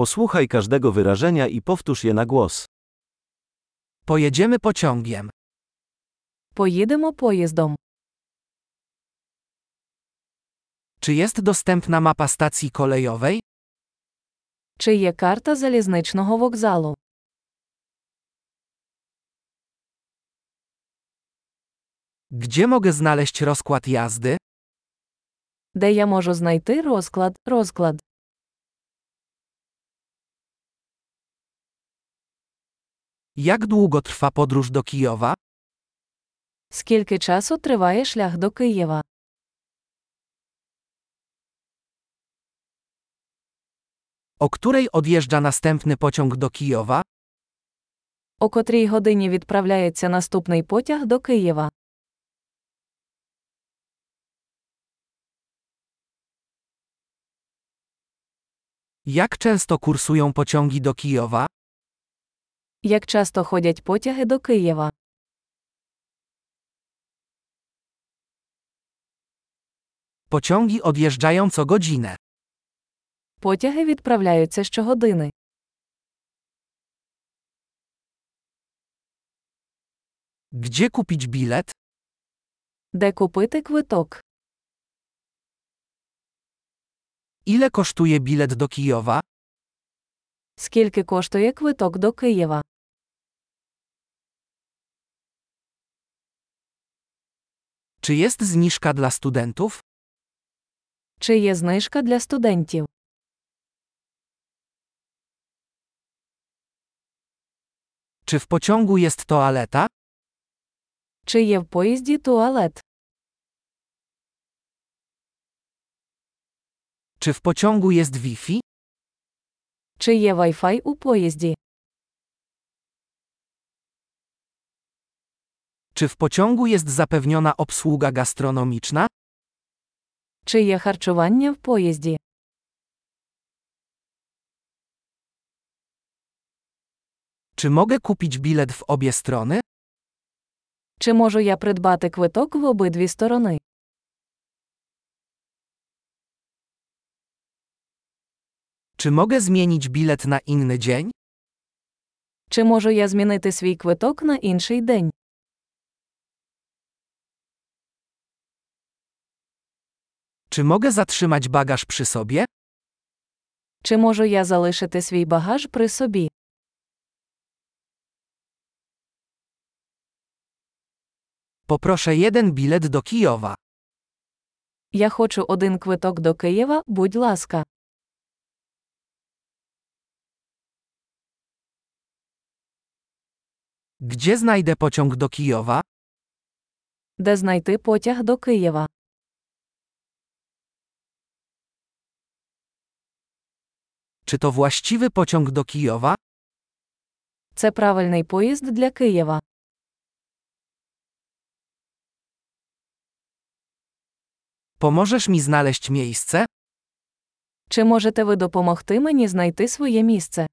Posłuchaj każdego wyrażenia i powtórz je na głos. Pojedziemy pociągiem. Поїдемо поїздом. Czy jest dostępna mapa stacji kolejowej? Чи є карта залізничного вокзалу? Gdzie mogę znaleźć rozkład jazdy? Де я можу знайти розклад? Jak długo trwa podróż do Kijowa? Скільки часу триває шлях до Києва? O której odjeżdża następny pociąg do Kijowa? О котрій годині відправляється наступний потяг до Києва? Jak często kursują pociągi do Kijowa? Як часто ходять потяги до Києва? Pociągi odjeżdżają co godzinę. Потяги відправляються щогодини. Gdzie kupić bilet? Де купити квиток? Ile kosztuje bilet do Kijowa? Скільки коштує квиток до Києва? Czy jest zniżka dla studentów? Чи є знижка для студентів? Czy w pociągu jest toaleta? Чи є в поїзді туалет? Czy w pociągu jest Wi-Fi? Чи є Wi-Fi у поїзді? Czy w pociągu jest zapewniona obsługa gastronomiczna? Чи є харчування в поїзді? Czy mogę kupić bilet w obie strony? Чи можу я придбати квиток в обидві сторони? Czy mogę zmienić bilet na inny dzień? Чи можу я змінити свій квиток на інший день? Czy mogę zatrzymać bagaż przy sobie? Чи можу я залишити свій багаж при собі? Poproszę jeden bilet do Kijowa. Я хочу один квиток до Києва, будь ласка. Gdzie znajdę pociąg do Kijowa? Де знайти потяг до Києва? Czy to właściwy pociąg do Kijowa? Це правильний поїзд для Києва. Pomożesz mi znaleźć miejsce? Чи можете ви допомогти мені знайти своє місце?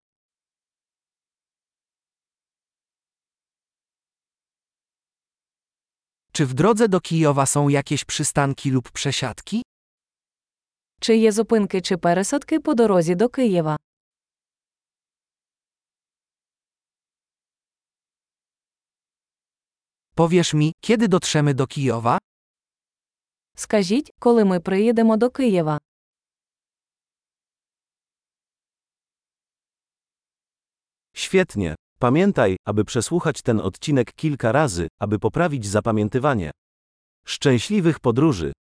Czy w drodze do Kijowa są jakieś przystanki lub przesiadki? Чи є зупинки чи пересадки по дорозі до Києва? Powiesz mi, kiedy dotrzemy do Kijowa? Скажіть, коли ми приїдемо до Києва? Świetnie. Pamiętaj, aby przesłuchać ten odcinek kilka razy, aby poprawić zapamiętywanie. Szczęśliwych podróży!